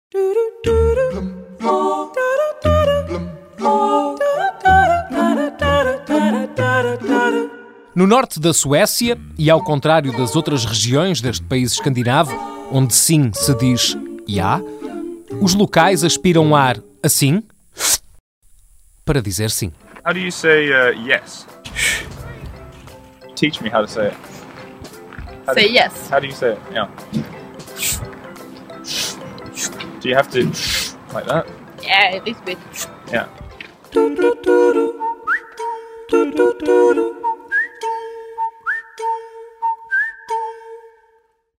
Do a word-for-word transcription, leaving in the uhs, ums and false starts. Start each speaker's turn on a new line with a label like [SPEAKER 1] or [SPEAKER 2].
[SPEAKER 1] No norte da Suécia, e ao contrário das outras regiões deste país escandinavo, onde sim se diz ja, os locais aspiram ar assim para dizer sim.
[SPEAKER 2] How do you say uh, yes? Teach me how to say it. How
[SPEAKER 3] Say
[SPEAKER 2] do,
[SPEAKER 3] yes.
[SPEAKER 2] How do you say it? Yeah. Do you have to like that?
[SPEAKER 3] Yeah, a little bit.
[SPEAKER 2] Yeah.